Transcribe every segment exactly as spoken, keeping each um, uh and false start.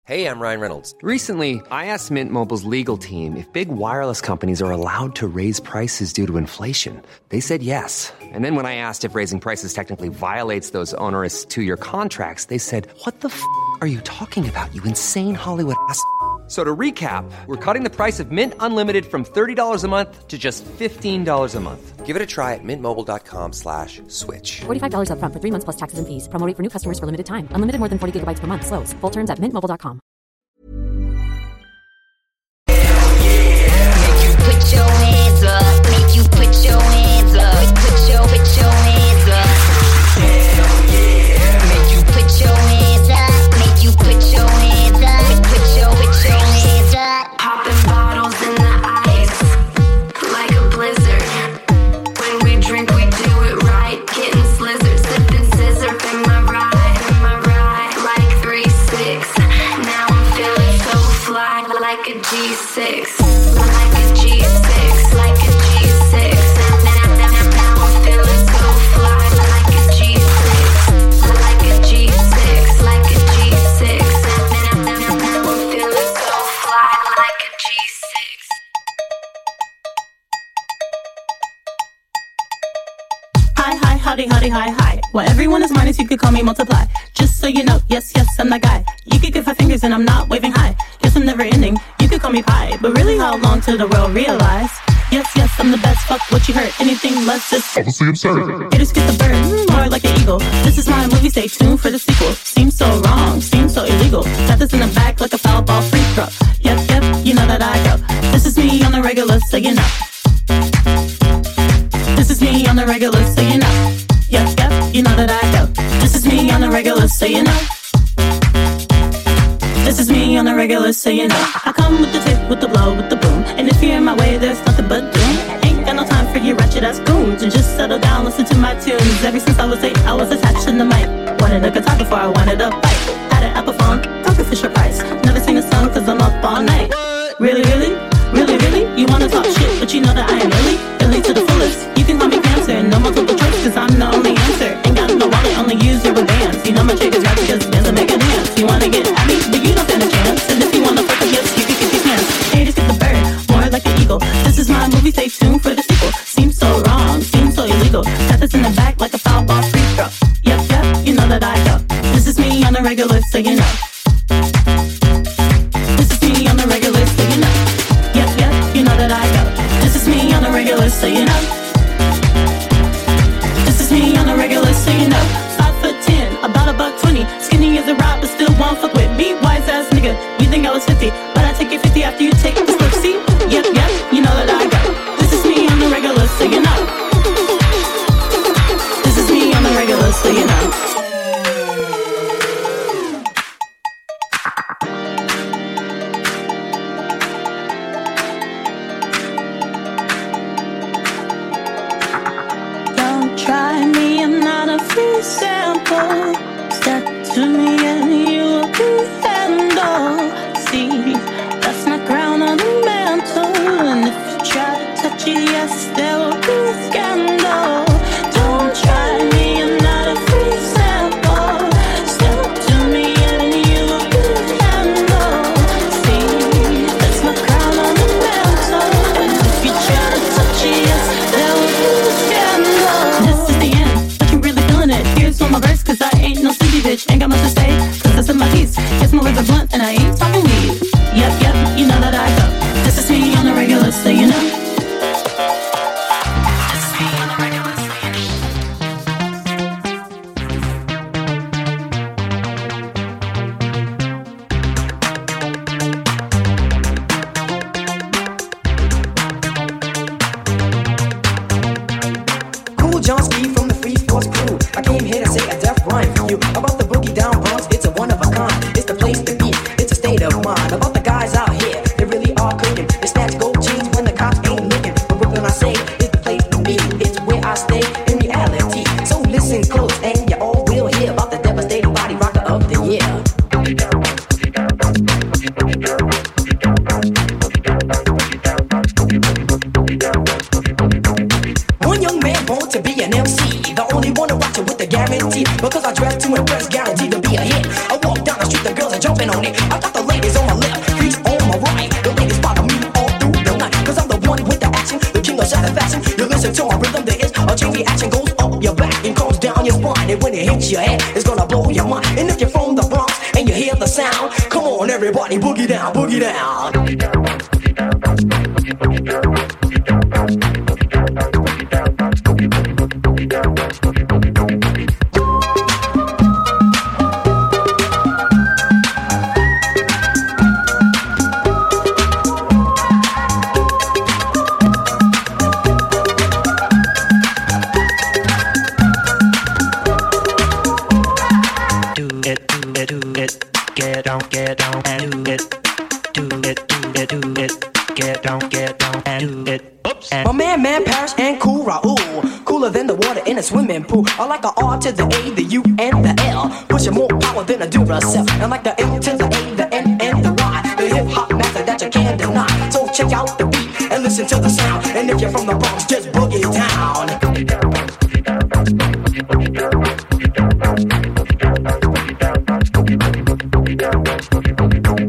Hey, I'm Ryan Reynolds. Recently, I asked Mint Mobile's legal team if big wireless companies are allowed to raise prices due to inflation. They said yes. And then when I asked if raising prices technically violates those onerous two-year contracts, they said, what the f*** are you talking about, you insane Hollywood ass f- So to recap, we're cutting the price of Mint Unlimited from thirty dollars a month to just fifteen dollars a month. Give it a try at mintmobile.com slash switch. forty-five dollars up front for three months plus taxes and fees. Promo rate for new customers for limited time. Unlimited more than forty gigabytes per month. Slows full terms at mint mobile dot com. Make you put your hands up. Make you put your hands up. Put your, put your hands up. Hell yeah. Make you put your hands up. Make you put your hands up. Put your, put your hands up. Popping bottles in the ice like a blizzard. When we drink, we do it right. Getting slizzard, sipping scissor. In my ride, in my ride, like three six. Now I'm feeling so fly, like a G six, like a G six, like a G six. Now, now, now I'm feeling so fly, like a G six, like a G six, like a G six. Now, now, now, now I'm feeling so fly, like a G six. Hi, hi, howdy, howdy, hi, hi. Well, everyone is minus, you could call me multiply. Just so you know, yes, yes, I'm that guy. You could give five fingers and I'm not waving high. Yes, I'm never ending, you could call me pie. But really, how long till the world realize? Yes, yes, I'm the best, fuck what you heard. Anything less just obviously absurd. Haters get the bird, more like an eagle. This is my movie, stay tuned for the sequel. Seems so wrong, seems so illegal. Got this in the back like a foul ball free throw. Yep, yep, you know that I go. This is me on the regular, so you know. This is me on the regular, so you know. Yep, yep, you know that I go. This is me on the regular, so you know. This is me on the regular, so you know. I come with the tip, with the blow, with the boom. And if you're in my way, there's nothing but doom. Ain't got no time for you ratchet ass goons. And just settle down, listen to my tunes. Ever since I was eight, I was attached to the mic. Wanted a guitar before I wanted a bike. Had an Apple phone, talking Fisher Price. Never sing a song cause I'm up all night. Really, really? Really, really? You wanna talk shit, but you know that I am really, really to the fullest. You can call me cancer, no multiple choice, cause I'm the only answer. Ain't got no wallet, only use your bands. You know my chick is rap because bands that make a dance. You wanna get at me, but you don't stand a chance. And if you wanna fuck yes, you can kick your pants. Haters get the bird, more like an eagle. This is my movie, stay tuned for the sequel. Seems so wrong, seems so illegal. Got this in the back like a foul ball free throw. Yep, yep, you know that I go. This is me on the regular, so you know. This is me on the regular, so you know. Yep, yep, you know that I go. This is me on the regular, so you know. This is me on the regular, so you know. Five foot ten, about a buck twenty. Skinny as a rock, but still won't fuck with me. Wise ass nigga, you think I was fifty, but I take your fifty after you take the slip. See? Yep, yep, you know that I go. This is me on the regular, so you know. This is me on the regular, so you know. Try me, I'm not a free sample. Step to me and you'll be handled. See, that's my crown on the mantle. And if you try to touch it, yes, there will be a scandal. Don't try me, I'm not a free sample. Step to me and you'll be handled. See, that's my crown on the mantle. And if you try to touch it, yes, there will be a scandal. Here's one my verse, cause I ain't no sleepy bitch. Ain't got much to say, cause that's in my piece. Guess my words are blunt and I ain't talking weed. Yep, yep, you know that I go. This is me on the regular, so you know. This is me on the regular, so you know. Cool John Ski from the Free Force crew. I came here to say a death rhyme for you. About the boogie down Bronx, it's a one of a kind. It's the place to be, it's a state of mind. About the guys out here, they really are cooking. They snatch gold chains when the cops ain't looking. But Brooklyn, I say, it's the place to be. It's where I stay in reality. So listen close and you all will hear about the devastating body rocker of the year. One young man born to be an M C, the only one to watch it with the guarantee. Because I dress to impress, guaranteed to be a hit. I walk down the street, the girls are jumping on it. I got the king of satisfaction. You listen to my rhythm, there is a chain reaction. Goes up your back and comes down your spine. And when it hits your head, it's gonna blow your mind. And if you're from the Bronx and you hear the sound, come on everybody, boogie down, boogie down. Boogie down, boogie down, boogie down, boogie down, boogie down, boogie down, boogie down. Get down, get down and do it. Do it, do it, do it. Get down, get down and do it. Oops. My man, man, Paris and Cool Raoul. Cooler than the water in a swimming pool. I like the R to the A, the U, and the L. Pushing more power than a Duracell. And like the M to the A, the N, and the Y. The hip hop master that you can't deny. So check out the beat and listen to the sound. And if you're from the Bronx, just boogie down. Boogie down, boogie down, boogie down, boogie down, boogie down, boogie down, boogie down, boogie down, boogie down, boogie down, boogie down, boogie down.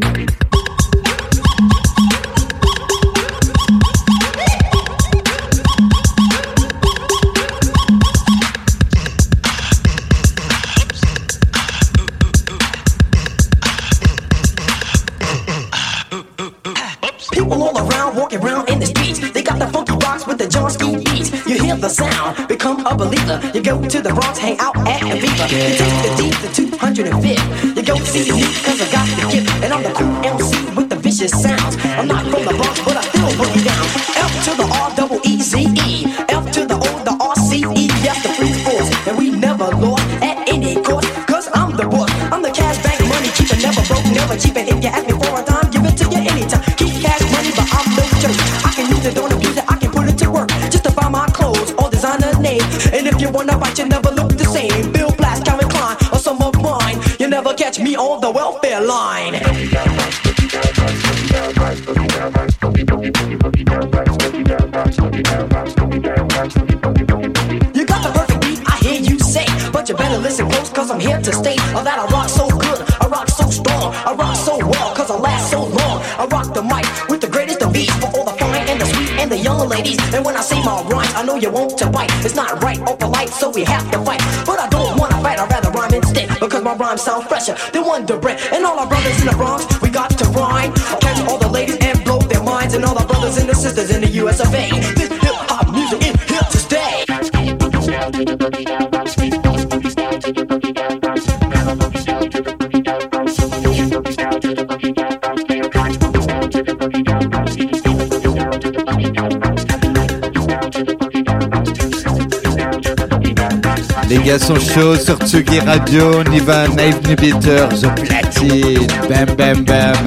People all around, walking around in the streets. They got the funky rocks with the John Steve beats. You hear the sound, become a believer. You go to the Bronx, hang out at Aviva. You take the D to two hundred fifth. You go see me cause I got the gift. And I'm the cool M C with the vicious sounds. I'm not from the Bronx, but I still boogie down. F to the R, double E, Z, E. F to the O, the R, C, E. Yes, the free force. And we never lost at any cost. Cause I'm the boss. I'm the cash bank money keeper. Never broke, never cheap. And if you ask me for a time, give it to you anytime. Keep cash money, but I'm no jerk. I can use it, don't abuse it, I can put it to work. Just to buy my clothes or designer name. And if you wanna bite, you never look the same. Bill Blass, Calvin Klein, or some of mine. You never catch me on the welfare line. You got the perfect beat, I hear you say. But you better listen close, cause I'm here to stay. Oh, that I rock so good, I rock so strong, I rock so well, cause I last so long. I rock the mic with the greatest of beats for all the fine and the sweet and the young ladies. And when I say my rhymes, I know you want to bite. It's not right or polite, so we have to fight. But I don't wanna fight, I'd rather rhyme instead, because my rhymes sound fresher than Wonder Bread. And all our brothers in the Bronx, we got to rhyme. Catch all the ladies and blow their minds. And all our brothers and the sisters in the U S of A. This hip-hop music is here to stay. Les gars sont chauds sur Tsugi Radio, on y va, Knife Inhibitor, The Platine, bam bam bam.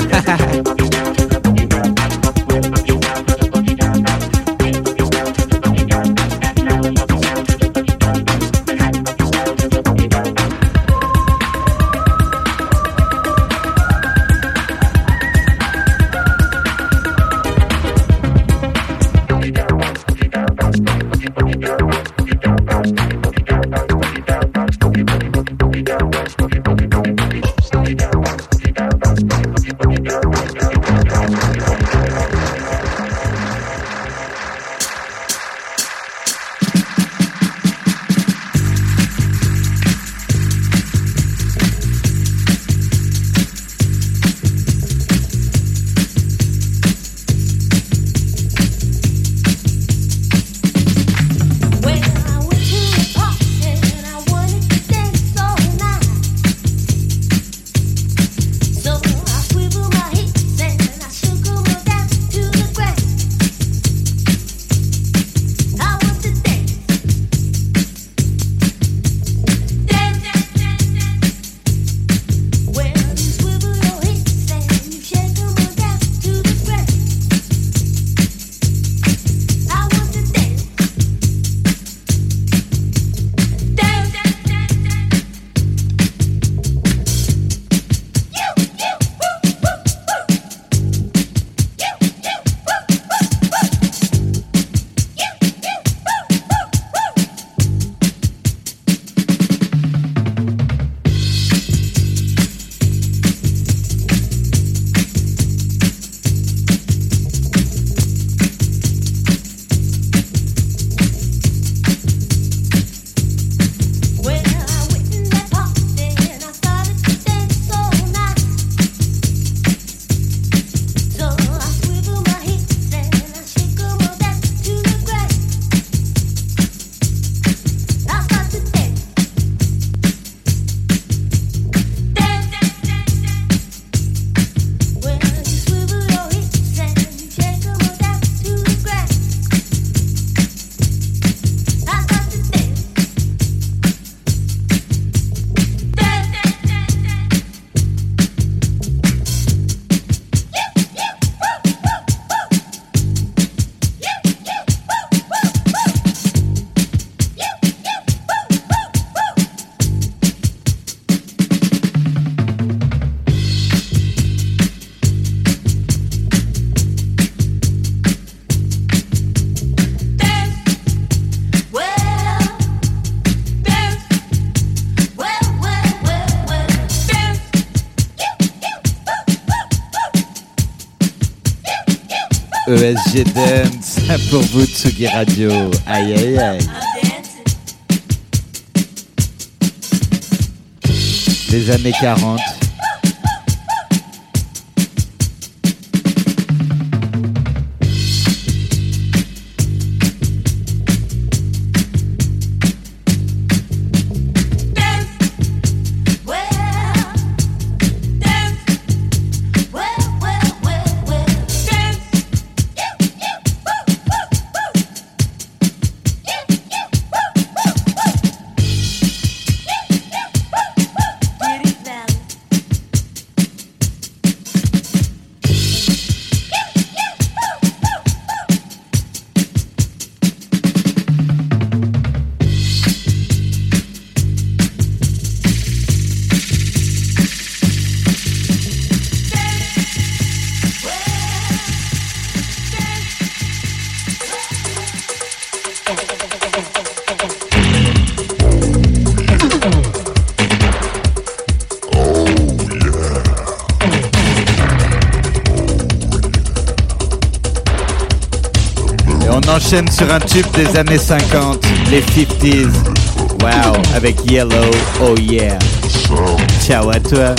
E S G Dance pour vous, Tsugi Radio. Aïe, aïe, aïe. Les années quarante. Enchaîne sur un tube des années cinquante, les cinquantaines. Wow, avec Yellow, oh yeah. Ciao à toi.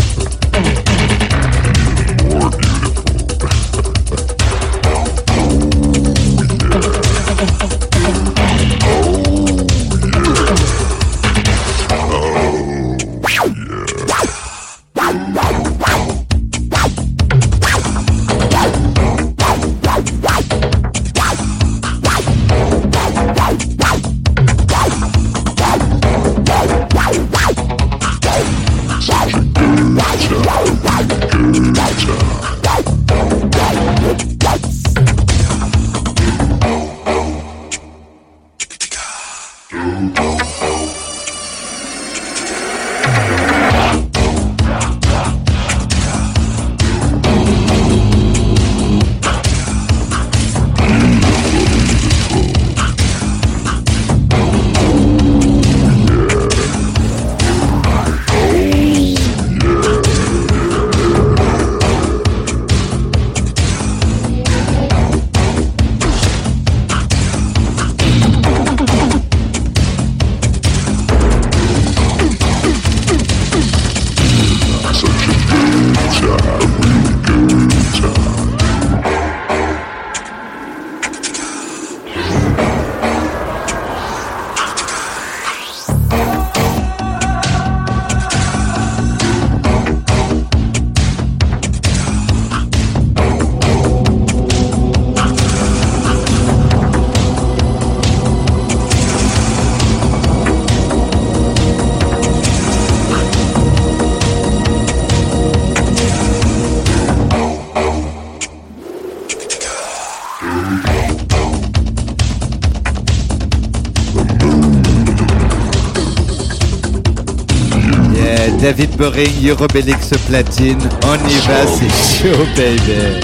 David Boring, Eurobelix platine, on y va, c'est chaud, baby.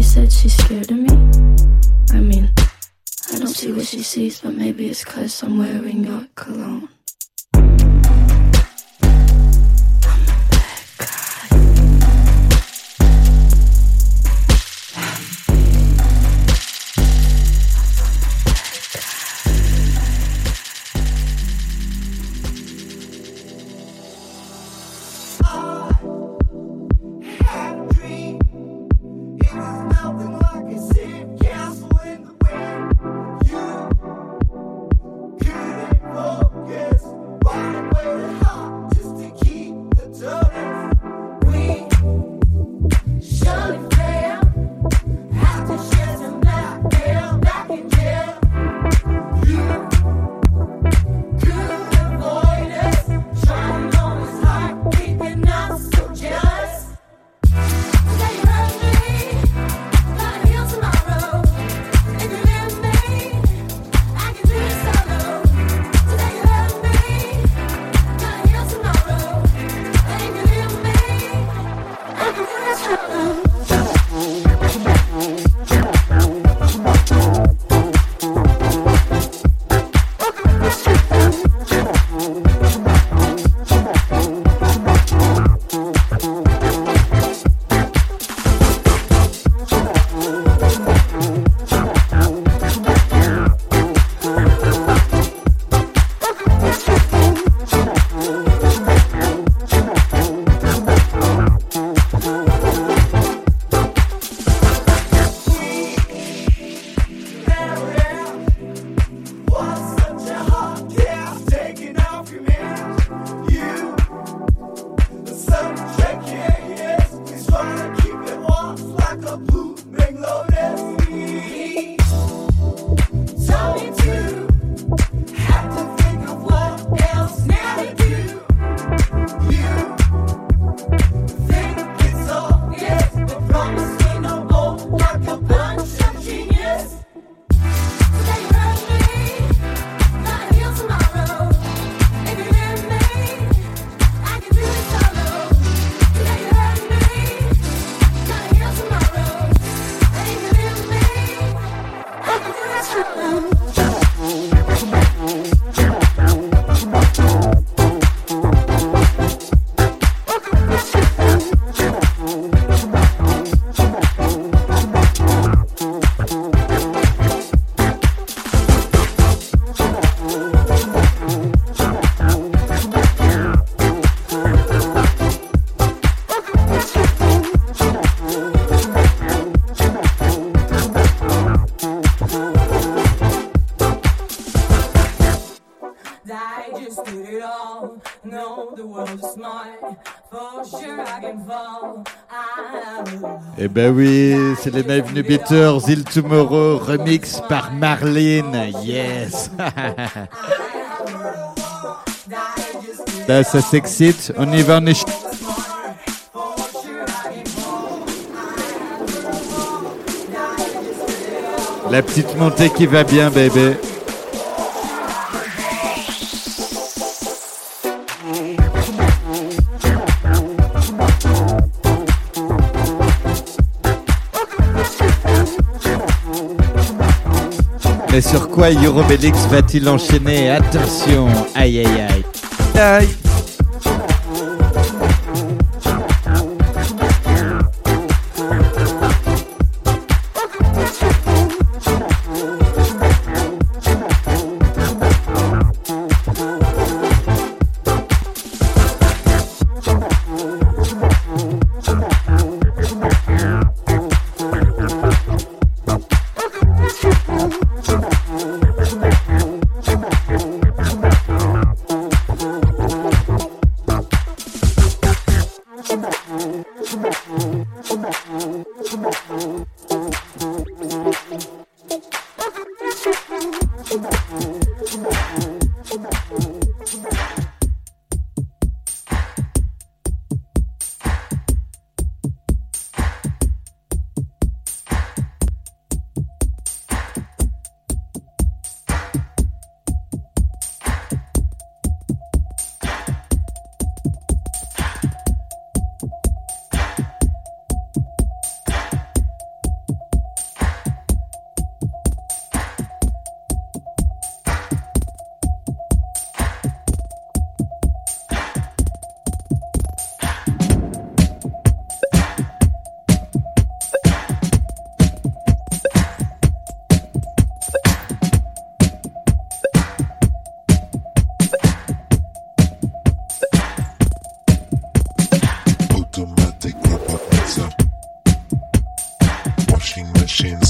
said she's scared of me. I mean, I don't see what she sees, but maybe it's 'cause I'm wearing your cologne. Eh ben oui, c'est les Bienvenue Beaters, Il Tomorrow, remix par Marlene, yes. Là, ça s'excite, on y va, on est... La petite montée qui va bien, bébé. Mais sur quoi Eurobelix va-t-il enchaîner? Attention, aïe aïe aïe. Aïe.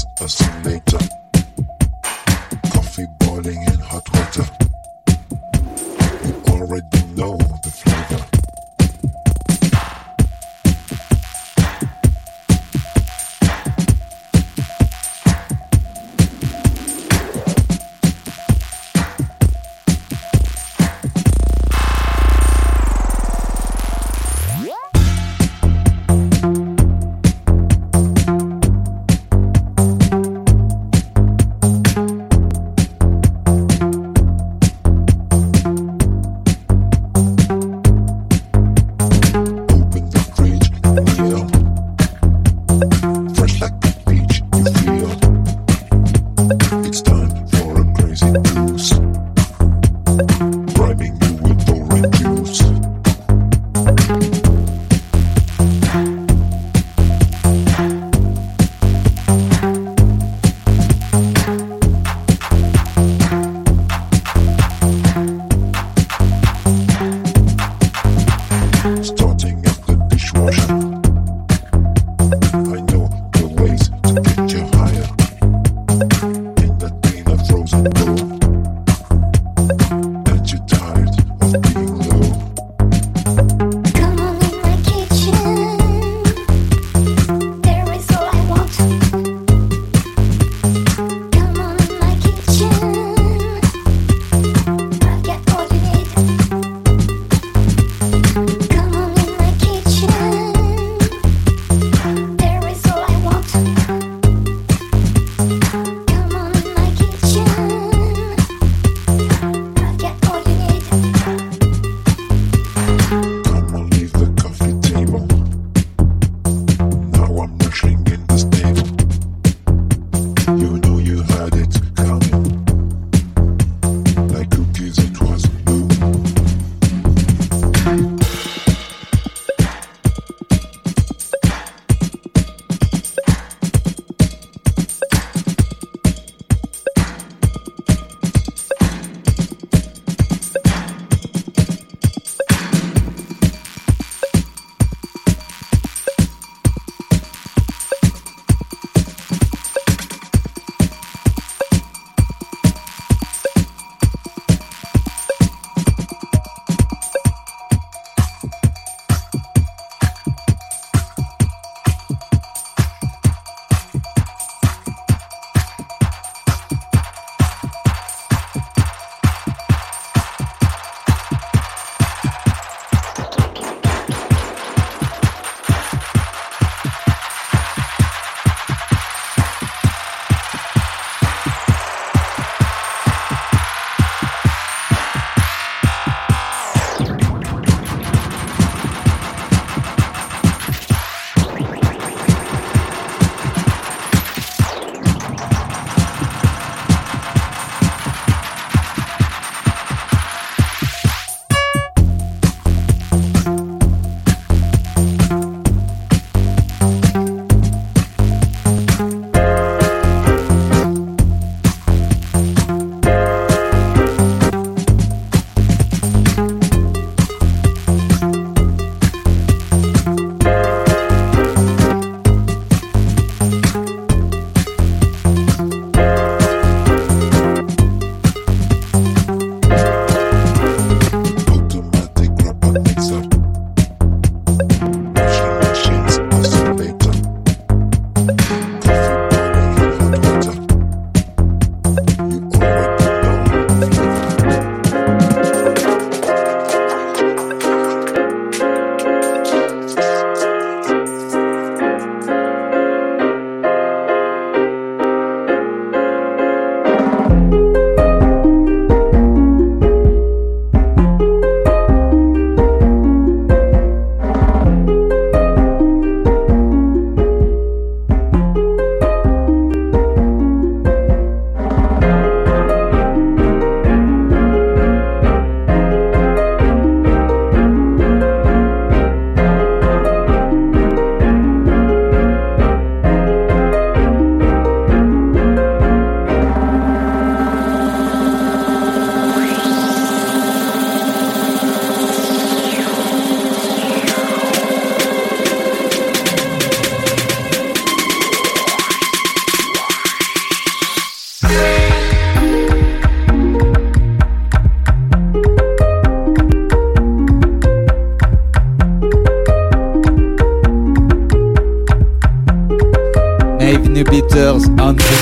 It's a sun later. Coffee boiling in hot water. You already know the flavor. We'll be right back.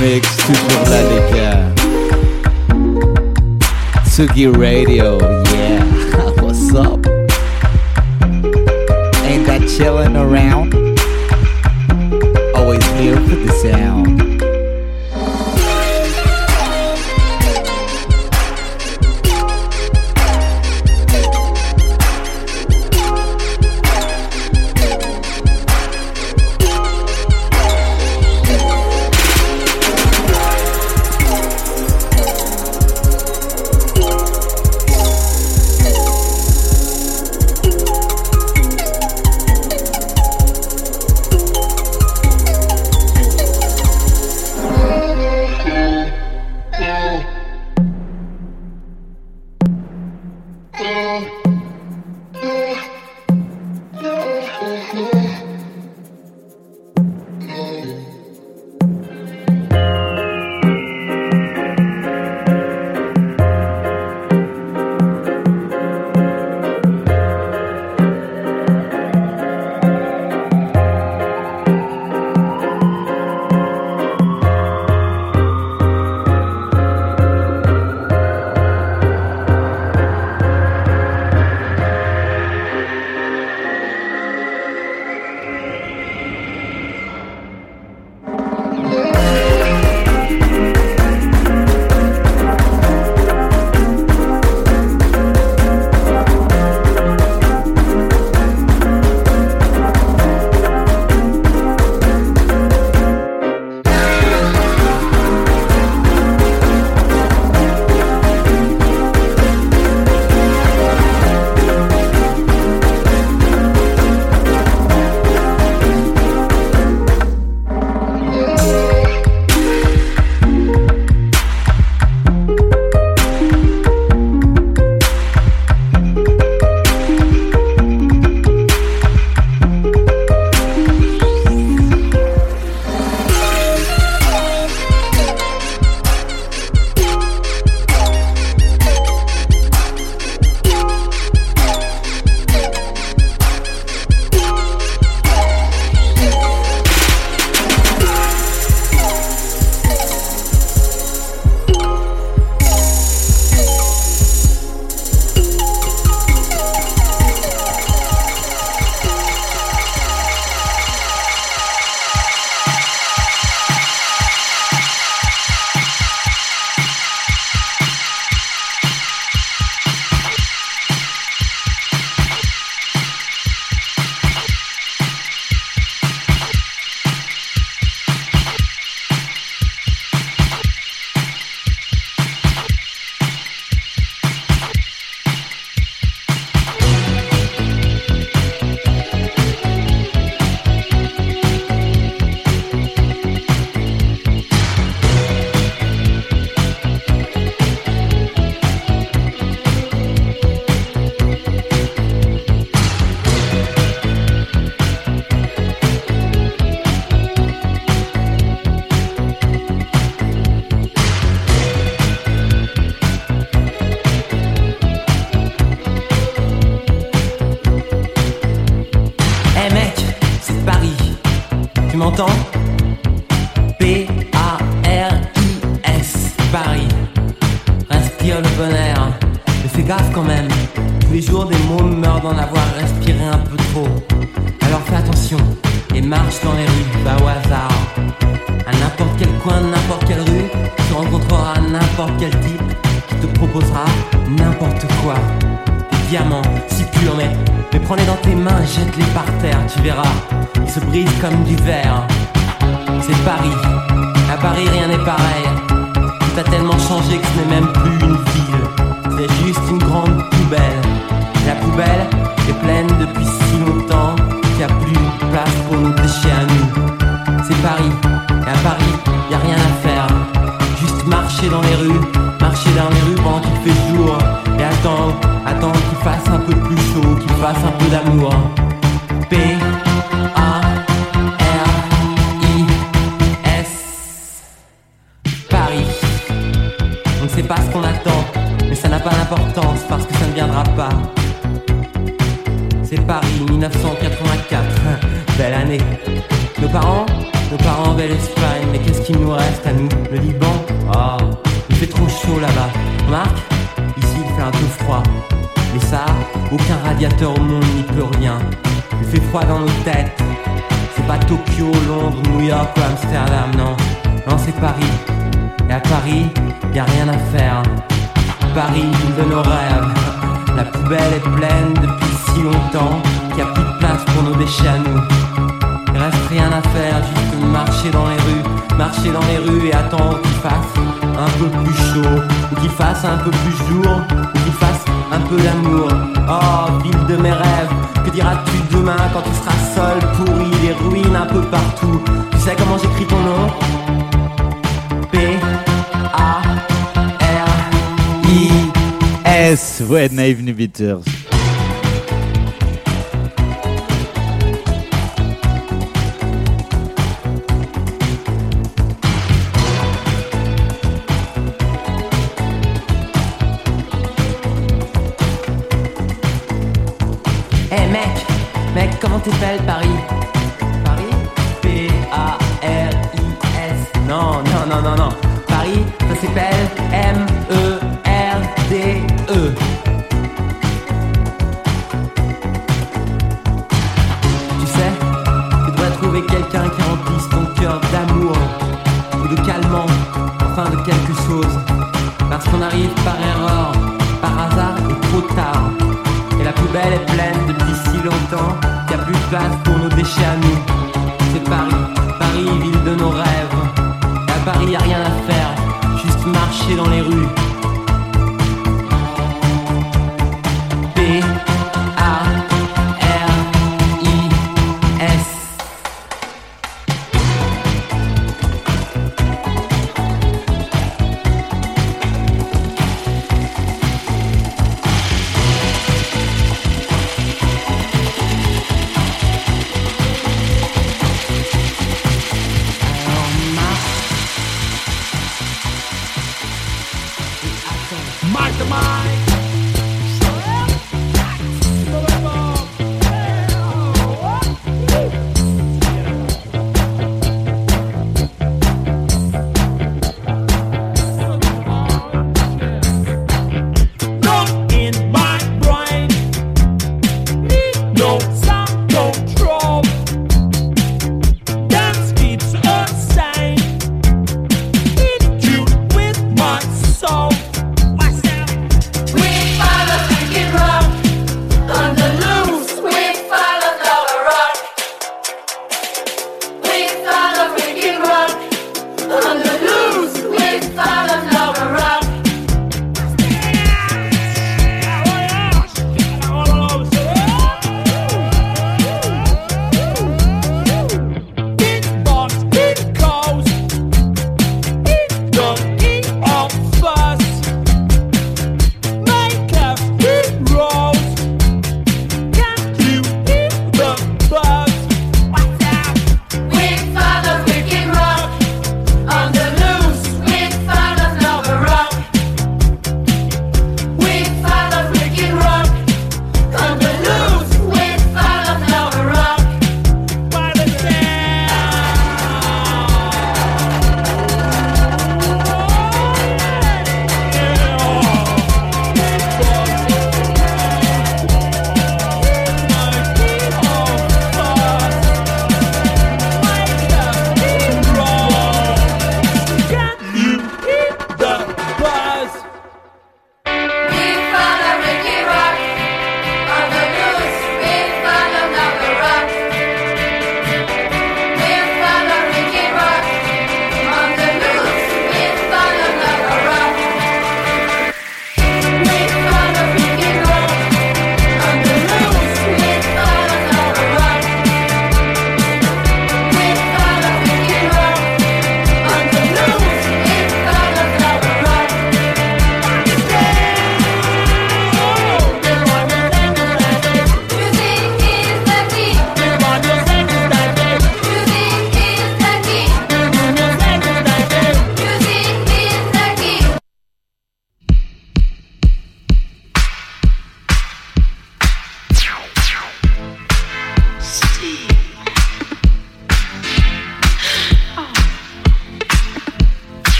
mix, toujours là les gars. Tsugi Radio, yeah, what's up? Ain't that chillin' around? Always here for the sound. m'entends? P A R I S, Paris. Respire le bon air, mais fais gaffe quand même. Tous les jours des mômes meurent d'en avoir respiré un peu trop. Alors fais attention et marche dans les rues, pas au hasard. À n'importe quel coin, n'importe quelle rue, tu rencontreras n'importe quel type qui te proposera n'importe quoi. Des diamants si purs, mais, mais prends-les dans tes mains, jette-les par terre, tu verras, ils se brisent comme du verre. C'est Paris, à Paris rien n'est pareil. Tout a tellement changé que ce n'est même plus une ville, c'est juste une grande poubelle. La poubelle est pleine depuis si longtemps qu'il n'y a plus de place pour nos déchets à nous. C'est Paris, et à Paris, y a rien à faire. Juste marcher dans les rues, marcher dans les rues pendant qu'il fait jour. Et attendre, attendre qu'il fasse un peu plus chaud, qu'il fasse un peu d'amour. P A R I S, Paris. On ne sait pas ce qu'on attend, mais ça n'a pas d'importance parce que ça ne viendra pas. C'est Paris, mille neuf cent quatre-vingt-quatre, belle année. Nos parents, Nos parents avaient l'Espagne, mais qu'est-ce qu'il nous reste à nous? Le Liban? Oh, il fait trop chaud là-bas. Remarque, ici il fait un peu froid. Mais ça, aucun radiateur au monde n'y peut rien. Il fait froid dans nos têtes. C'est pas Tokyo, Londres, New York ou Amsterdam, non. Non, c'est Paris. Et à Paris, y a rien à faire. Paris, ville de nos rêves. La poubelle est pleine depuis si longtemps qu'il n'y a plus de place pour nos déchets à nous. Il reste rien à faire, juste marcher dans les rues. Marcher dans les rues et attendre qu'il fasse un peu plus chaud, ou qu'il fasse un peu plus jour, ou qu'il fasse un peu d'amour. Oh, ville de mes rêves, que diras-tu demain quand tu seras seul, pourri, des ruines un peu partout? Tu sais comment j'écris ton nom? P A R I S. Ouais, Naive New Beaters. Comment t'appelles Paris? Paris? P A R I S. Non, non, non, non, non. Paris, ça s'appelle M E R D E. Tu sais, tu devrais trouver quelqu'un qui remplisse ton cœur d'amour ou de calmant, enfin de quelque chose. Parce qu'on arrive par erreur, par hasard et trop tard. Et la poubelle est pleine depuis si longtemps qu'il n'y a plus de place pour nos déchets à nous. C'est Paris, Paris, ville de nos rêves. Et à Paris, y a rien à faire, juste marcher dans les rues. P A R I S. Myself.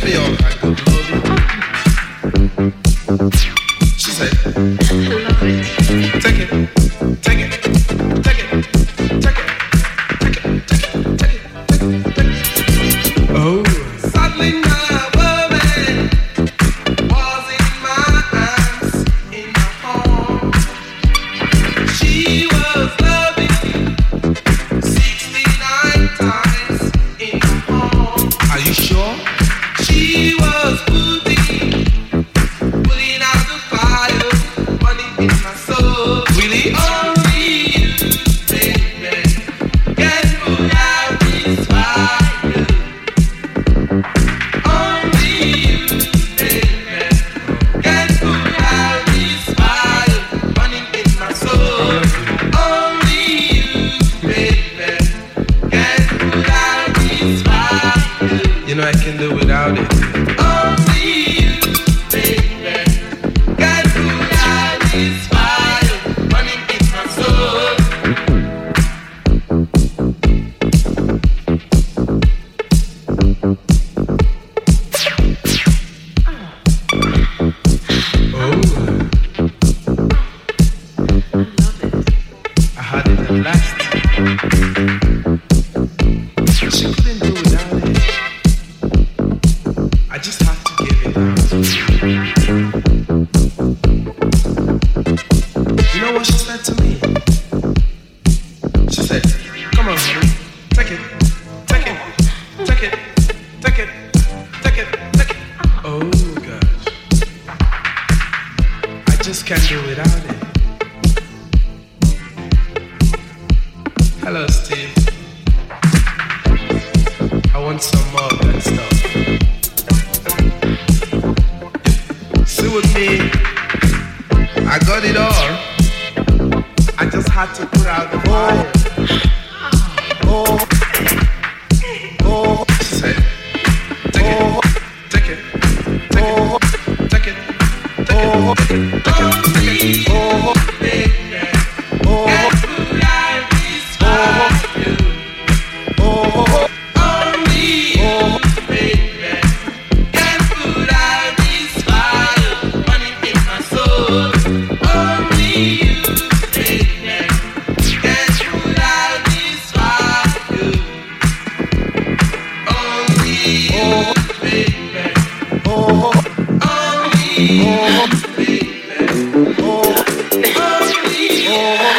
me all right, good lordy. She said, take it, take it, take it, take it, take it, take it, take it, take it. Oh, suddenly my woman was in my arms, in my home. She was loving sixty-nine times in my home. Are you sure? She was putting, putting out the fire, burning in my soul. Really, only you, baby, can put out this fire. Only you, baby, can put out this fire, burning in my soul. Only you, baby, can put out this fire. You know I can do without it. Only you, baby, can put out this fire, burning in my soul. Oh, I had it at last. She couldn't do without it. I just have to give it out. You know what she said to me? She said, come on, honey, take it, take it, take it, take it, take it, take it. Oh gosh, I just can't do without it. Hello, Steve. I want some more of that stuff. See with me, I got it all. I just had to put out the fire. Oh, oh, she said, take it, take it, take it, take it, take it, take it, take it, oh, baby, oh, can't put out this fire. Oh, only you, baby, can put out this fire, burning in my soul. Only you, baby, can put out this fire. Only you, baby. Oh, only you, baby. Oh, only you.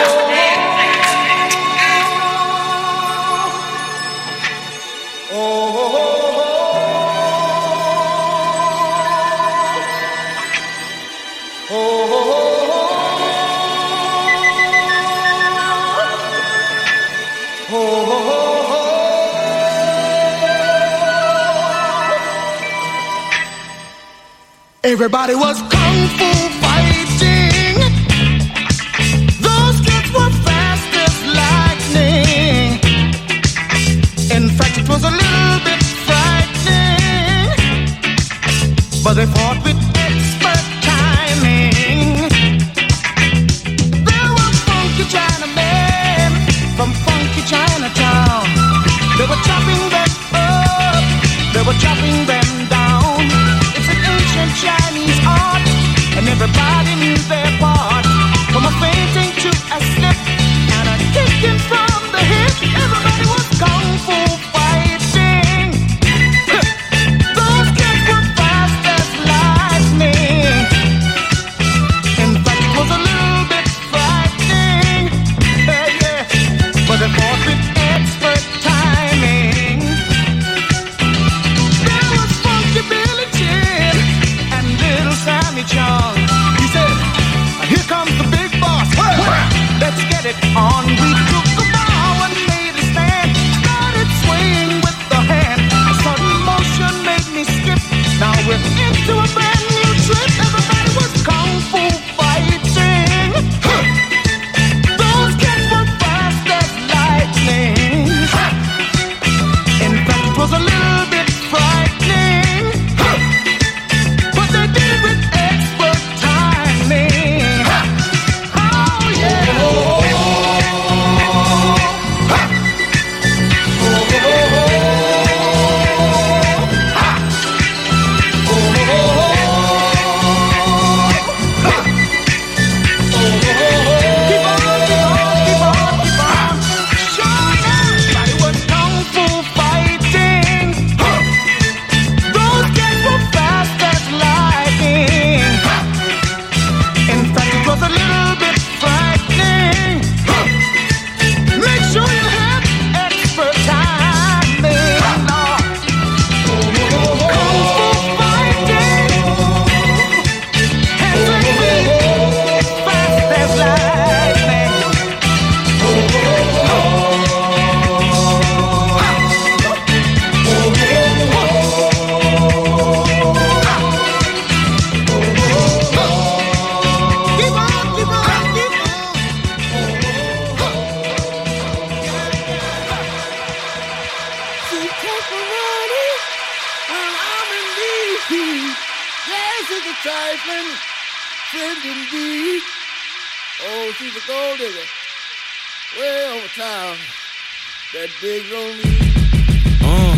Everybody was kung fu fighting. Those kids were fast as lightning. In fact, it was a little bit frightening, but they fought with expert timing. There were funky Chinamen from funky Chinatown. They were chopping them up, they were chopping them down. It's an ancient Chinese art, and everybody knew their part. From a fainting to a slip and a kicking from the hip, everybody was kung fu fighting. Those kids were fast as lightning. this is a trifling friend indeed. Oh, she's a gold digger. Way over town. That digs on me. Uh.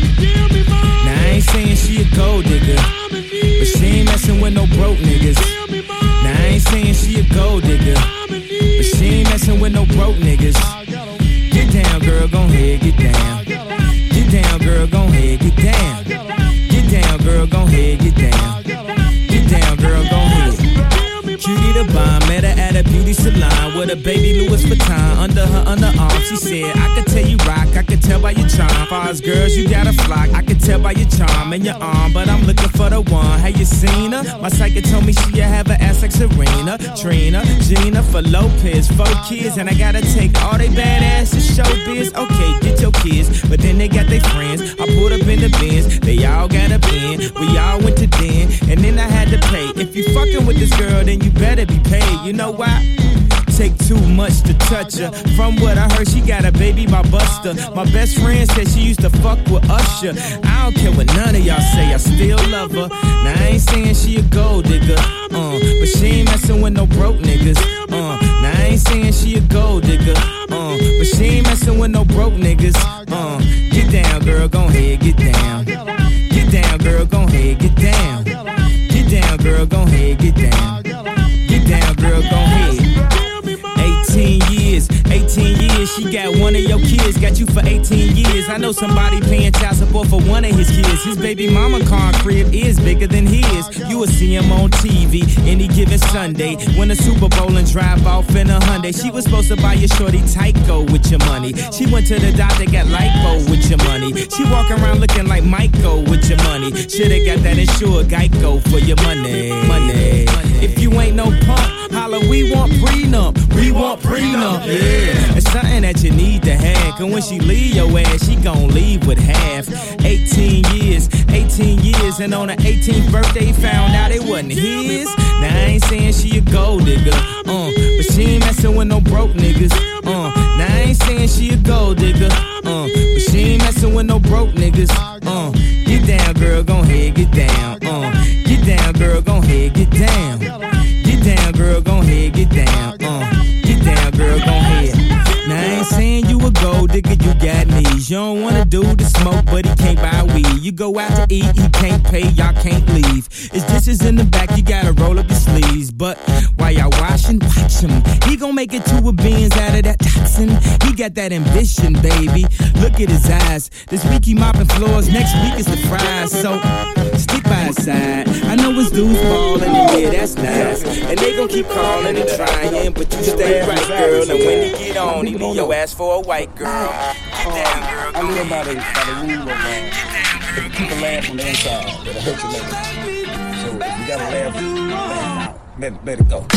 Now I ain't saying she a gold digger, but she ain't messing with no broke niggas. Now I ain't saying she a gold digger, but she ain't messing with no broke niggas. Get down, girl, gon' ahead, get down. Get down, girl, gon' ahead, get down. Get down, girl, gon' ahead, get down. Get down, girl, gon' ahead. Cutie the bomb, met her at a beauty salon with a baby Louis Vuitton under her underarm. She said, I could tell you rock, I could tell by your charm. Far as girls, you got a flock, I could tell by your charm and your arm, but I'm looking for the one. Have you seen her? My psychic told me she'll have an ass like Serena, Trina, Gina, for Lopez, four kids, and I gotta take all they badass to showbiz. Okay, get your kids, but then they got their friends. I pulled up in the Benz, they all got a bin. We all went to den, and then I had to pay. If you fucking with this girl, then you better be paid. You know why? Take too much to touch her. From what I heard, she got a baby by Buster. My best friend said she used to fuck with Usher. I don't care what none of y'all say, I still love her. Now I ain't saying she a gold digger, uh, but she ain't messing with no broke niggas. Uh, now I ain't saying she a gold digger, uh, but she ain't messing with no broke niggas. Uh, get down, girl, gon' ahead, get down. Get down, girl, gon' ahead, get down. Get down, girl, gon' ahead, get down. Get down, girl, gon' ahead. eighteen years, eighteen years, she got one of your kids, got you for eighteen years. I know somebody paying child support for one of his kids. His baby mama car crib is bigger than his. You will see him on T V any given Sunday. Win a Super Bowl and drive off in a Hyundai. She was supposed to buy your shorty Tyco with your money. She went to the doctor, got lipo with your money. She walk around looking like Michael with your money. Shoulda got that insured Geico for your money. Money. If you ain't no punk, holla, we want prenup. We want prenup, yeah. It's something that you need to have. Cause when she leave your ass, she gon' leave with half. eighteen years, eighteen years, and on her eighteenth birthday, found out it wasn't his. Now I ain't saying she a gold digger, uh, but she ain't messing with no broke niggas. Uh, now I ain't saying she a gold digger, uh, but she ain't messing with no broke niggas. Uh, get down, girl, gon' ahead, get down. Uh, get down, girl, gon' ahead, get down. Get down, girl, gon' ahead, get down. Uh, get down, girl, gon' ahead. Now I ain't saying you a gold digger, you got knees. You don't want a dude to smoke, but he can't buy weed. You go out to eat, he can't pay, y'all can't leave. It's dishes in the back, you gotta roll up your sleeves. But while y'all washing, watch him. He gon' make it to a beans out of that toxin. He got that ambition, baby. Look at his eyes. This week he mopping floors, next week is the fries. So stick by his side. I know his dudes ballin', and yeah, that's nice. And they gon' keep calling and trying, but you stay right, girl. And when he get on, he leave your ass for a white girl. Get down, girl. I live by the, by the rule of uh, if people laugh on the inside, it'll hurt your leg. So you gotta laugh, laugh out. Let, let it go.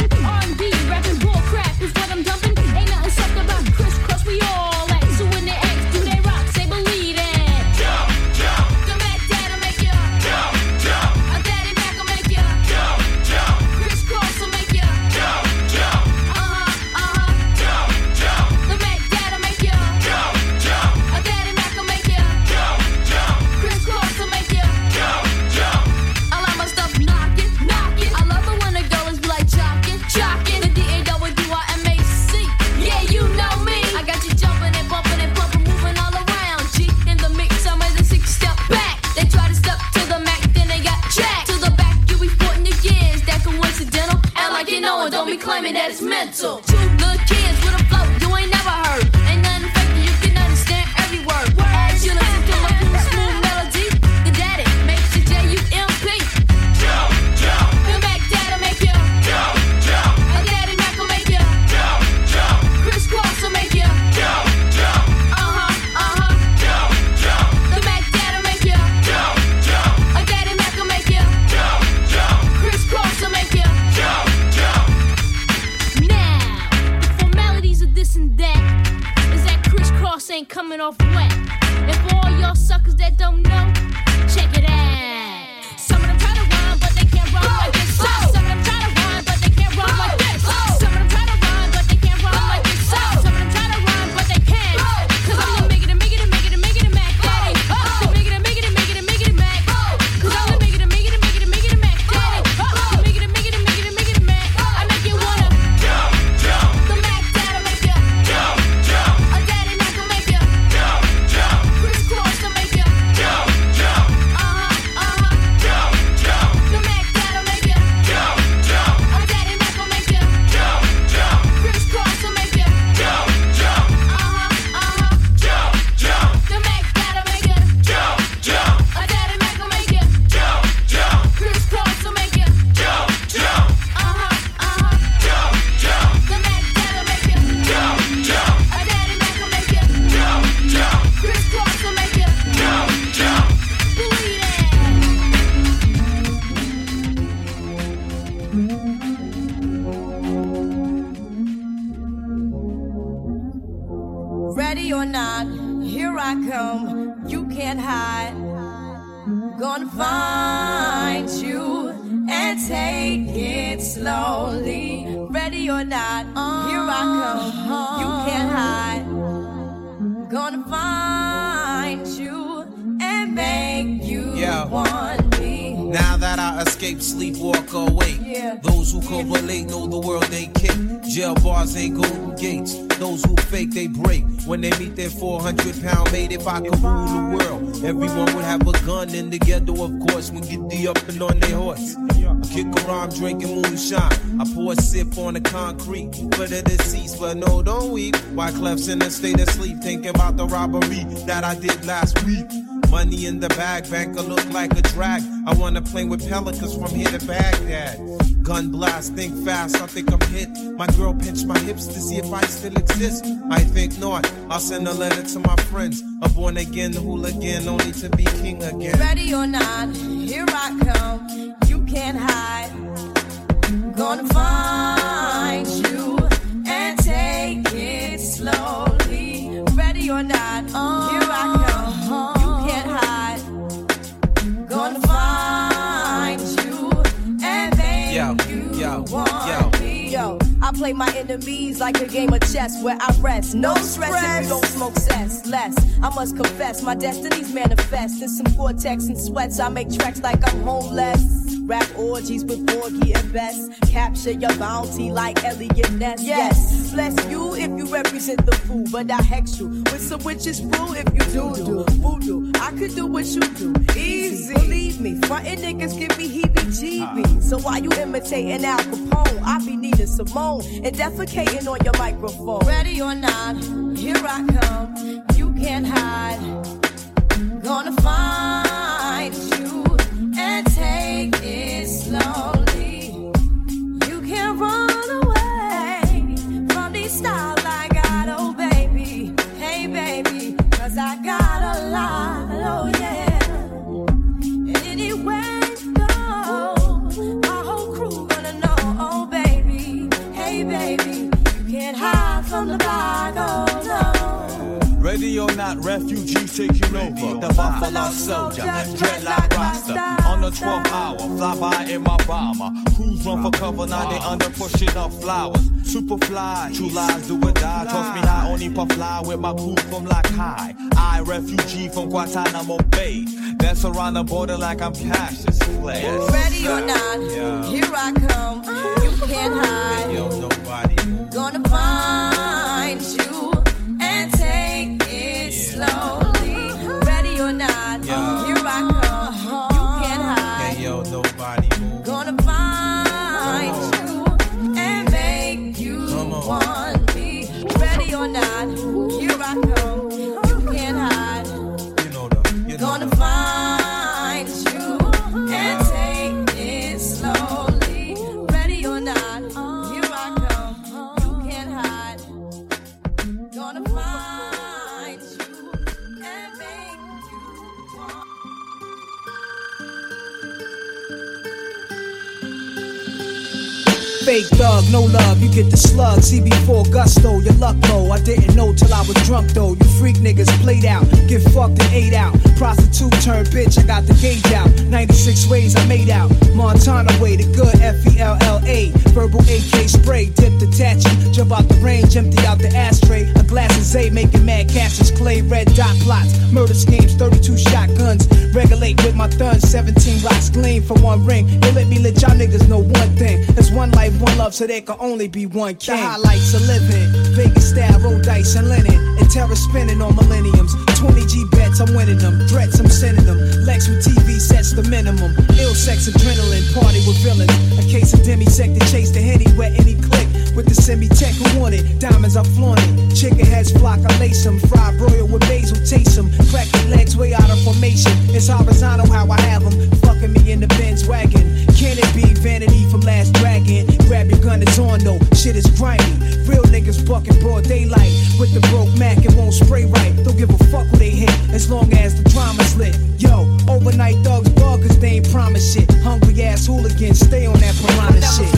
jumping. R and B, rapping bull crap is what I'm dumping. Ain't nothing sucked about crisscross, we all at. So when they ask, do they rock? Say believe it. Jump, jump. The Mac Dad'll make you jump, jump. A Daddy Mac will make you jump, jump. Crisscross will make you jump, jump. Uh-huh, uh-huh. Jump, jump. The Mac Dad'll make you jump, jump. A Daddy Mac will make you jump, jump. Crisscross will make you jump, jump. I like my stuff knocking, knocking. I love it when the girls be like jocking, jocking. The D A W I M A C. Yeah, you know me. I got you jumping and bumping and pumping, moving all around. G in the mix, I'm at the six step back. They try to step to the Mac, then they got jacked. To the back, you be sporting your gears. That coincidental. And like you know it, don't be claiming that it's mental. Two good kids with a flow you ain't never heard. Ain't nothing fake, you can understand every word. As you listen to my cool, smooth melody, the daddy makes you J U M P. Jump, jump. The Mac Dad'll make you jump, jump. A Daddy Mac will make you jump, jump. Crisscross will make you jump, jump. Uh-huh, uh-huh. Jump, jump. The Mac Dad'll make you jump, jump. A Daddy Mac will make you jump, jump. Crisscross will make you jump, jump. Now, the formalities of this and that is that crisscross ain't coming off wet. And for all y'all suckers that don't know, check it out. Some of them try to rhyme, but they can't rhyme like this. Some of them try to rhyme, but they can't rhyme like this. Some of them try to rhyme, but they can't rhyme like this. Some of them try to rhyme, but they can't. Cause I'm the make it, make it, make it, make it, Mac Daddy. The make it, make it, make it, make it, Mac. Cause I'm the make it, make it, make it, make it, Mac Daddy. The make it, make it, make it, make it, Mac. I make you wanna jump, jump. The Mac Dad'll make you jump, jump. A Daddy Mac will make you jump, jump. Crisscross will make you jump, jump. Uh-huh, uh-huh. Jump, jump. The Mac Dad'll make you jump, jump. A Daddy Mac will make you jump, jump. Crisscross will make you jump, jump. Uh-huh, uh-huh. Jump, jump. The Mac Dad'll make you jump, jump. A Daddy Mac will make you jump, jump. Crisscross will make you jump, jump. Uh-huh, uh-huh. Jump, jump. The Mac Dad'll make you jump, jump. A Daddy Mac will make you jump, jump. Crisscross will make you jump, jump. Believe it. Ready or not, here I come. You can't hide. Gonna find you and take it slowly. Ready or not, here I come. You can't hide. Gonna find you and make you Yeah. want me. Now that I escape, sleep, walk awake. Yeah. Those who correlate know the world ain't kick. Jail bars ain't golden gates. Those who fake, they break. When they meet their four hundred pound mate, if I could rule the world, everyone would have a gun in the ghetto, of course, when get the up and on their horse. I kick around drinking moonshine. I pour a sip on the concrete for the deceased, but no, don't weep. Why Clef's in a state of sleep, thinking about the robbery that I did last week. Money in the bag, banker look like a drag. I wanna play with pelicans from here to Baghdad. Gun blast, think fast, I think I'm hit. My girl pinched my hips to see if I still exist. I think not. I'll send a letter to my friends. A born again hooligan, only to be king again. Ready or not, here I come. You can't hide. Gonna find you and take it slowly. Ready or not, here I come. You can't hide. Gonna find you and make Yo, you yo, want yo. me. Yo, I play my enemies like a game of chess where I rest. No stress if you don't smoke cess. Less, I must confess, my destinies manifest. In some vortex and sweats, I make tracks like I'm homeless. Rap orgies with Borgie and Best. Capture your bounty like Elliot Ness. Yes, bless you if you represent the fool, but I hex you with some witches brew if you do do voodoo. I could do what you do, easy. Believe me, frontin' niggas give me heebie-jeebies. So while you imitating Al Capone, I be needing Simone and defecating on your microphone. Ready or not, here I come. You can't hide. Gonna find you and take it slowly. You can't run away from these styles I got, oh baby. Hey baby, cause I got a lot, oh yeah. And anywhere you go, my whole crew gonna know, oh baby. me, baby. You can't hide from the block, oh no. Ready or not, refugees taking over. The Buffalo Soldier, dreadlock roster. On the twelfth hour, fly by in my bomber. Crews run for cover, now they under pushing up flowers. Super fly, true lies do or die. Toss me high, only puff fly with my crew from like high. I, refugee from Guantanamo Bay. Dance around the border like I'm Cassius Clay. Ready or not, yeah. Here I come. You can't hide. Yo, nobody. Gonna find you and take it slowly. Ready or not, yeah. Here I come. You can't hide. Hey, yo, nobody. Gonna find you and make you want me. Ready or not, here I come. You can't hide. You know the, you know Gonna the. find you and take it slowly. Ready or not, here I come. You can't hide. Gonna find you and make you want. Fake thug, no love, you get the slug. See before gusto, your luck low. I didn't know till I was drunk though. You freak niggas played out, get fucked and ate out. Prostitute turned bitch, I got the gauge out. ninety-six ways I made out. Montana way, the good F E L L A. Verbal A K spray, dip detach you. Jump out the range, empty out the ashtray. A glass of Zay, making mad catches. Clay, red dot plots, murder schemes, thirty-two shotguns. Regulate with my thuns, seventeen rocks gleam for one ring. They let me let y'all niggas know one thing. There's one life, one love, so there can only be one king. The highlights of living, Vegas style, roll dice and linen, and terror spinning on millenniums. twenty G bets, I'm winning them. Threats, I'm sending them. Lex with T V sets the minimum. Ill sex, adrenaline, party with villains. A case of demisec to chase the henny where any click. With the semi-tech who want it, diamonds I flaunt it. Chicken heads flock, I lace them. Fried broil with basil, taste them. Crack their legs way out of formation. It's horizontal how I have them. Fucking me in the Benz wagon. Can it be vanity from Last Dragon? Grab your gun, it's on though. Shit is grimy. Real niggas bucking broad daylight. With the broke Mac, it won't spray right. Don't give a fuck who they hit, as long as the drama's lit. Yo, overnight thugs bug, cause they ain't promise shit. Hungry ass hooligans, stay on that piranha shit.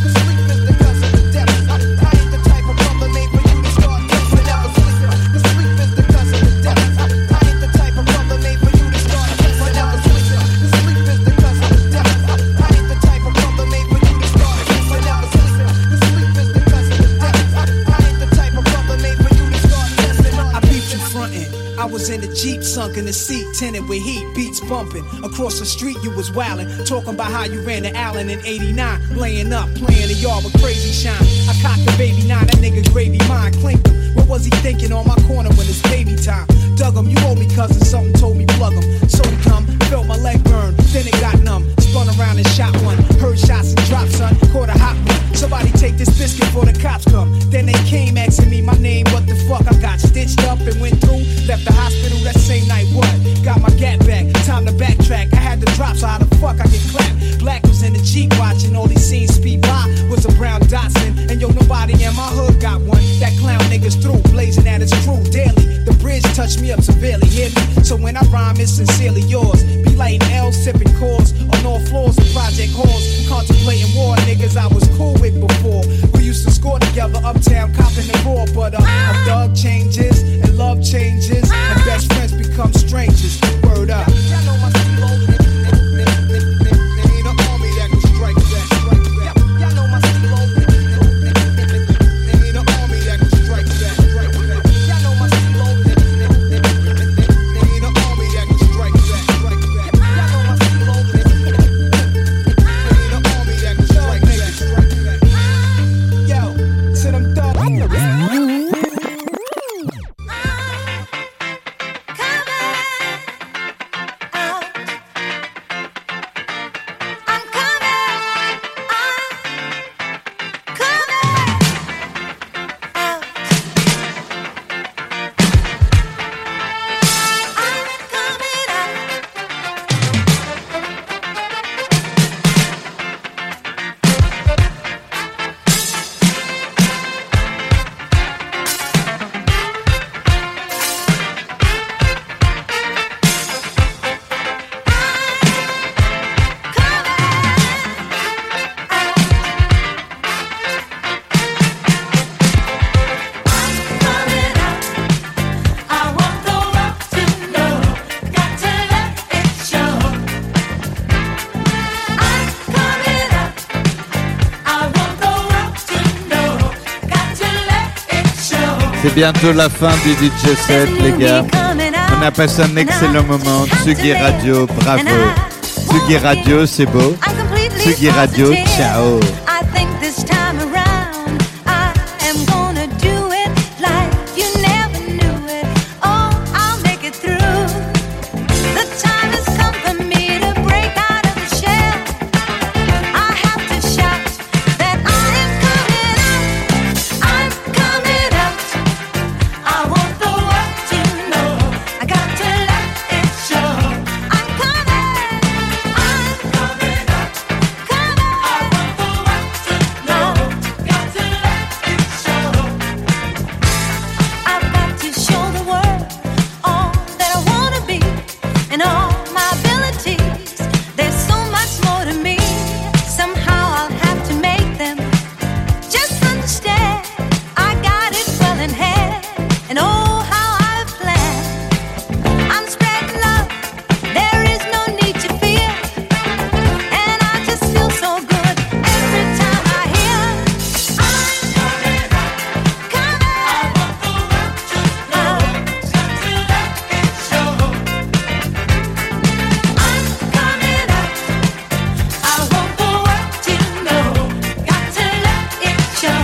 I was in the Jeep, sunk in the seat, tinted with heat, beats bumping. Across the street you was wildin', talking about how you ran to Allen in eighty-nine. Laying up, playing the yard with crazy shine. I cocked the baby nine, that nigga gravy mine, clinked him. What was he thinking on my corner when it's baby time? Dug him, you owe me cousin, something told me plug him. So he come, felt my leg burn, then it got numb. Spun around and shot one, heard shots and drops, son, caught a hot one. Somebody take this biscuit before the cops come. Then they came asking me my name, what the fuck? I got stitched up and went through, left the hospital that same night, what? Got my gat back, time to backtrack. I had to drop, so how the fuck I get clapped? Black was in the Jeep watching, all these scenes speed by. Was a brown Datsun, and yo, nobody in my hood got one. That clown niggas through, blazing at his crew daily. The bridge touched me up severely, hear me? So when I rhyme, it's sincerely yours. Be lighting L, sipping cores on all floors of project halls. Contemplating war, niggas I was cool with before. We used to score together, uptown, copping the raw. But uh, a thug changes, and love changes, and best friends become strangers. Word up. C'est bientôt la fin du D J set, les gars. On a passé un excellent moment. Tsugi Radio, bravo. Tsugi Radio, c'est beau. Tsugi Radio, ciao. I think this time around I am gonna do it like you never knew it. Oh, I'll make it through. The time has come for me to break out of the shell. I have to shout that I am coming out. I'm coming out. I want the world to know. I got to let it show. I'm coming. I'm coming out. Come on. I want the world to know. Got to let it show. I've got to show the world all that I wanna be and all my abilities. There's so much more to me. Somehow I'll have to make them just understand. I got it well in hand, and oh how I've planned. I'm spreading love. There is no need to fear, and I just feel so good every time I hear. I'm coming out, coming. I want the world to know. Got to let it show. I'm coming out. I want the world to know. Got to let it show.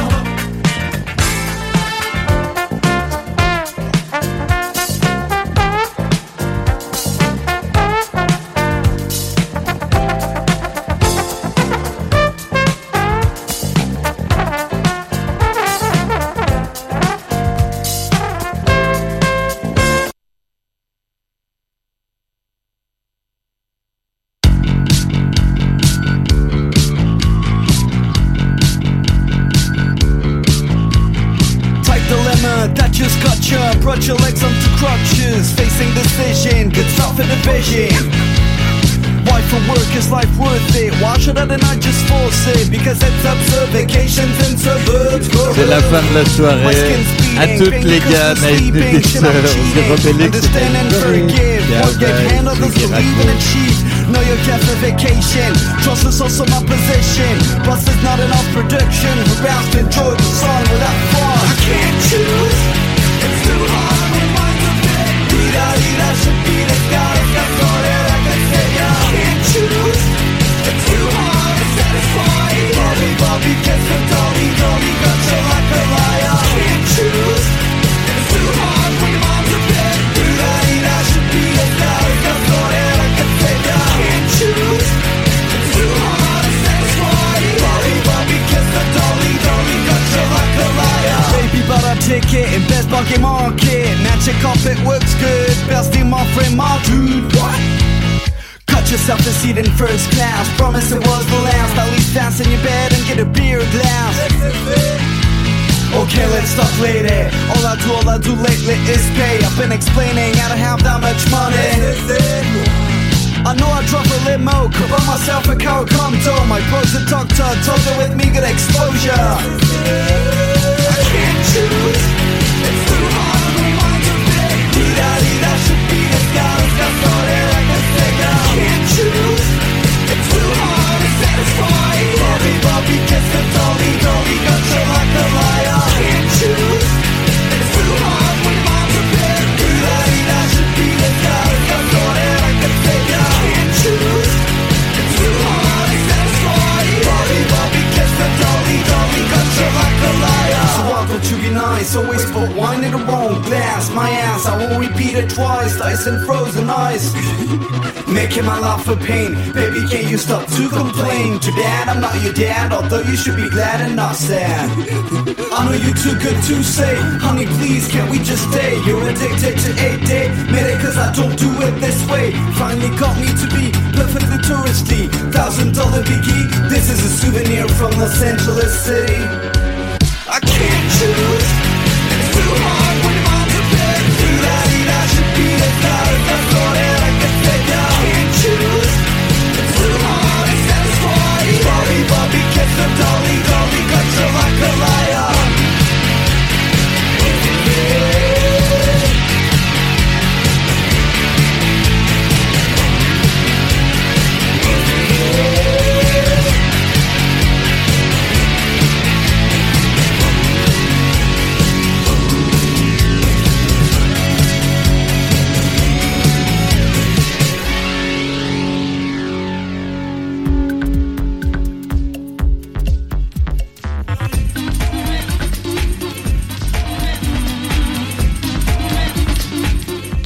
Tight dilemma that just got you. Brought your legs onto crutches. Facing decision, good stuff in division. Why for work is life worth it? Why should I not just force it? Because it's absurd, vacations in suburbs. C'est la fin de la soirée. À toutes les gars, Night Editor, Zerobelix, Understand and forgive. Forget handlers believe and achieve. Know your justification. Trust is also my position. Plus there's not enough production. We're bound to enjoy the song without fun. I can't choose. It's too hard when mine's a bit. Rita, Rita should be the sky. Got sorted, I can say ya. I can't choose. It's too hard to satisfy. Bobby, Bobby, kiss the dolly, dolly, got you like a liar. I can't choose. It's too hard when your mom's a bit. Rita, Rita should be the sky. Got sorted, I can say ya. I can't choose. It's too hard to satisfy. Bobby, Bobby, kiss the dolly, dolly, got you like a liar. Baby, but I take it in best bucket market. Magic carpet works good. Best in my friend, my dude. What? Cut yourself a seat in first class. Promise it was the last. At least dance in your bed and get a beer glass. Okay, let's talk later. All I do, all I do lately is pay. I've been explaining I don't have that much money. I know I drove a limo, could buy myself a car, come door. My bro's a doctor, told her with me good exposure. I can't choose. It's too hard when mine's a bit. Rita, Rita should be the sky. Got sorted like a singer. I can't choose. It's too hard to satisfy. Bobby, Bobby, kiss the dolly, dolly, got you like a liar. I can't choose. It's too hard when mine's a bit. Rita, Rita should be the sky. Got sorted like a singer. I can't choose. It's too hard to satisfy. Bobby, Bobby, kiss the dolly, dolly, got you like a liar. So why don't you be nice? Always put wine in the wrong glass. My ass, I won't repeat it twice. Ice and frozen ice. Making my life a pain. Baby, can't you stop to complain? Too bad I'm not your dad, although you should be glad and not sad. I know you're too good to say. Honey, please, can't we just stay? You're addicted to eight day. Made it cause I don't do it this way. Finally got me to be perfectly touristy. Thousand dollar biggie. This is a souvenir from Los Angeles City. I can't choose. It's too hard when your mom's a bit. Rita, Rita should be the star. That's all that I can say. I can't choose. It's too hard to satisfy. Bobby, Bobby, kiss the dolly, dolly, got you like a liar.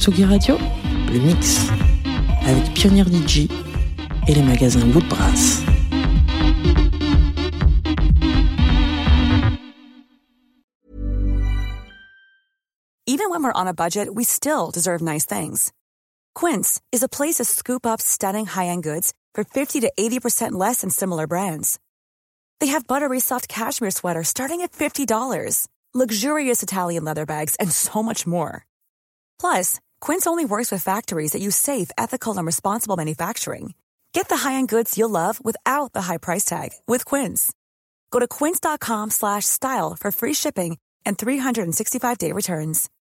Tsugi Radio, le mix avec Pionnier D J et les magasins Woodbrass. Even when we're on a budget, we still deserve nice things. Quince is a place to scoop up stunning high-end goods for fifty to eighty percent less than similar brands. They have buttery soft cashmere sweaters starting at fifty dollars, luxurious Italian leather bags, and so much more. Plus, Quince only works with factories that use safe, ethical, and responsible manufacturing. Get the high-end goods you'll love without the high price tag with Quince. Go to quince.com slash style for free shipping and three sixty-five day returns.